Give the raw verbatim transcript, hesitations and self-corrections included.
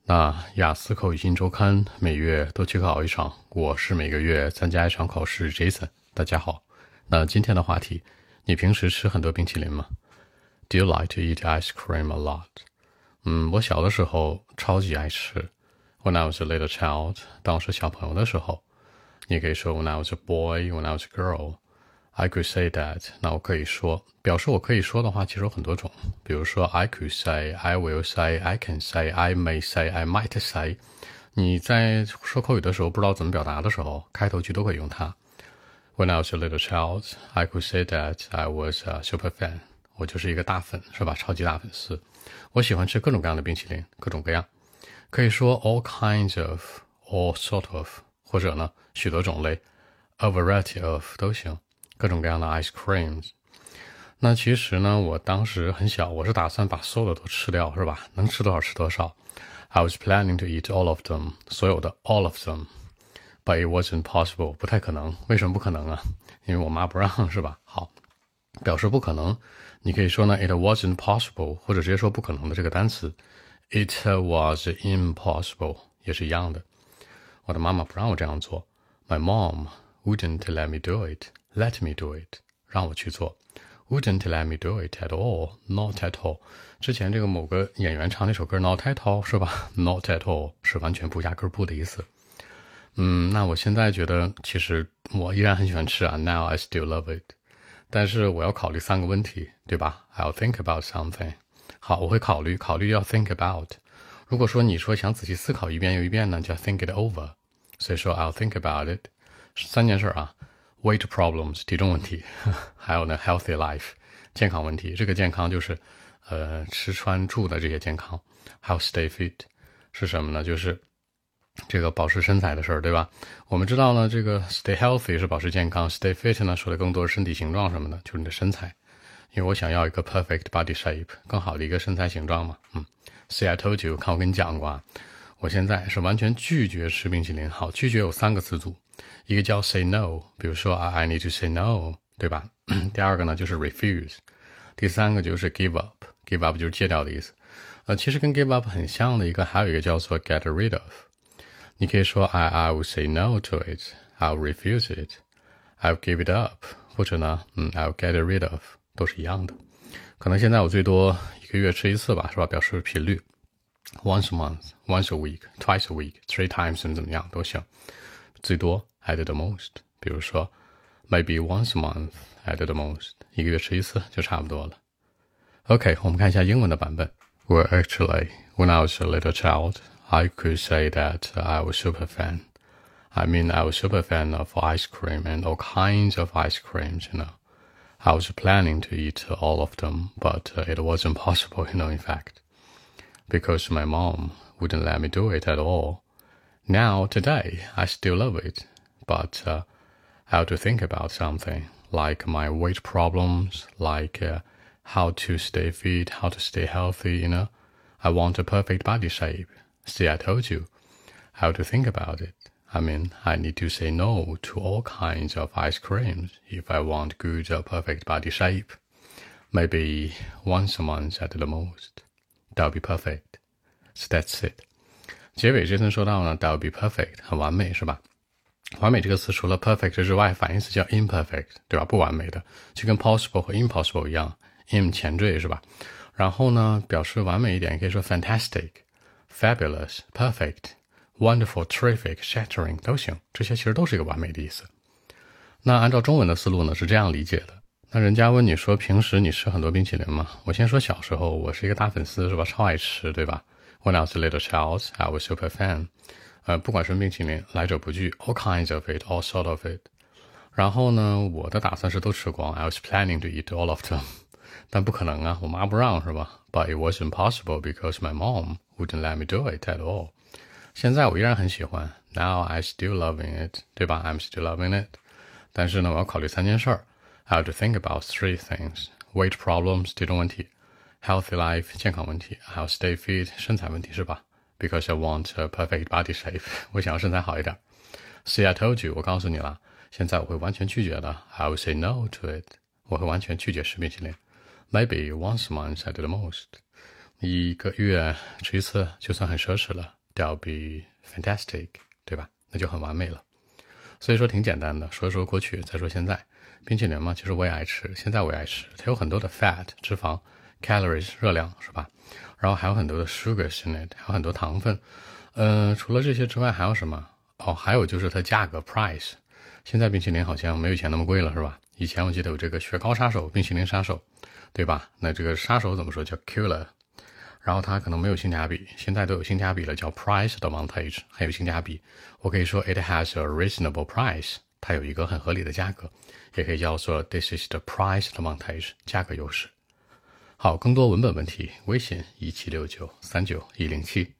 那雅思口语新周刊每月都去考一场，我是每个月参加一场考试 Jason。大家好，那今天的话题，你平时吃很多冰淇淋吗？ Do you like to eat ice cream a lot? 嗯，我小的时候超级爱吃。When I was a little child， 当我是小朋友的时候，你也可以说 When I was a boy, when I was a girl。I could say that， 那我可以说，表示我可以说的话其实有很多种，比如说 I could say, I will say, I can say, I may say, I might say。 你在说口语的时候不知道怎么表达的时候，开头句都可以用它。When I was a little child, I could say that I was a super fan。 我就是一个大粉，是吧？超级大粉丝。我喜欢吃各种各样的冰淇淋，各种各样，可以说 all kinds of, all sort of， 或者呢许多种类 a variety of 都行，各种各样的 ice creams。 那其实呢我当时很小，我是打算把所有的都吃掉，是吧？能吃多少吃多少。 I was planning to eat all of them， 所有的 all of them， but it wasn't possible， 不太可能。为什么不可能啊？因为我妈不让，是吧？好，表示不可能，你可以说呢 it wasn't possible， 或者直接说不可能的这个单词 it was impossible， 也是一样的。我的妈妈不让我这样做， My mom wouldn't let me do it, let me do it， 让我去做， wouldn't let me do it at all, not at all。 之前这个某个演员唱那首歌 Not at all， 是吧？ Not at all 是完全不压根不的意思。嗯，那我现在觉得其实我依然很喜欢吃啊 Now I still love it， 但是我要考虑三个问题，对吧？ I'll think about something。 好，我会考虑，考虑要 think about。 如果说你说想仔细思考一遍又一遍呢，就要 think it over。 所以说 I'll think about it。三件事啊 weight problems 体重问题，还有呢 healthy life 健康问题。这个健康就是呃吃穿住的这些健康。还有 stay fit 是什么呢？就是这个保持身材的事儿，对吧？我们知道呢，这个 stay healthy 是保持健康， stay fit 呢说的更多是身体形状什么的，就是你的身材。因为我想要一个 perfect body shape， 更好的一个身材形状嘛。嗯 See I told you， 看我跟你讲过啊，我现在是完全拒绝吃冰淇淋。好，拒绝有三个词组，一个叫 say no， 比如说 I need to say no， 对吧？第二个呢就是 refuse， 第三个就是 give up， give up 就是戒掉的意思。呃，其实跟 give up 很像的一个，还有一个叫做 get rid of。你可以说 I, I will say no to it, I'll refuse it, I'll give it up， 或者呢，嗯 I'll get rid of， 都是一样的。可能现在我最多一个月吃一次吧，是吧？表示频率 once a month, once a week, twice a week, three times 怎么样都行。最多 at the most， 比如说 maybe once a month at the most， 一个月吃一次就差不多了。OK， 我们看一下英文的版本。Well, actually, when I was a little child, I could say that I was super fan. I mean, I was super fan of ice cream and all kinds of ice creams, you know. I was planning to eat all of them, but uh, it wasn't possible, you know, in fact, because my mom wouldn't let me do it at all. Now, today, I still love it, but uh, I have to think about something, like my weight problems, like uh, how to stay fit, how to stay healthy, you know. I want a perfect body shape. See, I told you. I have to think about it. I mean, I need to say no to all kinds of ice creams if I want good or perfect body shape. Maybe once a month at the most. That'll be perfect. So that's it. 结尾这层说到呢 that'll be perfect， 很完美，是吧？完美这个词除了 perfect 之外，反义词叫 imperfect， 对吧？不完美的，就跟 possible 和 impossible 一样 im 前缀，是吧？然后呢表示完美一点，可以说 fantastic、fabulous、perfect、wonderful、terrific、shattering 都行，这些其实都是一个完美的意思。那按照中文的思路呢是这样理解的。那人家问你说平时你吃很多冰淇淋吗？我先说小时候，我是一个大粉丝，是吧？超爱吃，对吧？ When I was a little child, I was super fan。 呃，不管是冰淇淋，来者不拒 all kinds of it, all sort of it。 然后呢我的打算是都吃光， I was planning to eat all of them， 但不可能啊，我妈不让，是吧？ But it wasn't possible because my mom wouldn't let me do it at all。 现在我依然很喜欢， Now I still loving it， 对吧？ I'm still loving it。 但是呢我要考虑三件事儿， I have to think about three things， weight problems 体重问题， healthy life 健康问题，还有 stay fit 身材问题，是吧？ Because I want a perfect body shape， 我想要身材好一点。 See, I told you， 我告诉你了，现在我会完全拒绝的， I will say no to it， 我会完全拒绝吃冰淇淋。 Maybe once a month at the most， 一个月吃一次就算很奢侈了， that'll be fantastic， 对吧？那就很完美了。所以说挺简单的，说说过去，再说现在。冰淇淋嘛，其实我也爱吃，现在我也爱吃，它有很多的 fat 脂肪 calories 热量是吧？然后还有很多的 sugars in it， 还有很多糖分。呃，除了这些之外还有什么？哦，还有就是它价格 price。现在冰淇淋好像没有以前那么贵了是吧？以前我记得有这个雪糕杀手、冰淇淋杀手，对吧？那这个杀手怎么说？叫 killer。然后它可能没有性价比，现在都有性价比了，叫 price advantage， 还有性价比。我可以说 it has a reasonable price， 它有一个很合理的价格，也可以叫做 this is the price advantage， 价格优势。好，更多文本问题，微信一七六九三九一零七。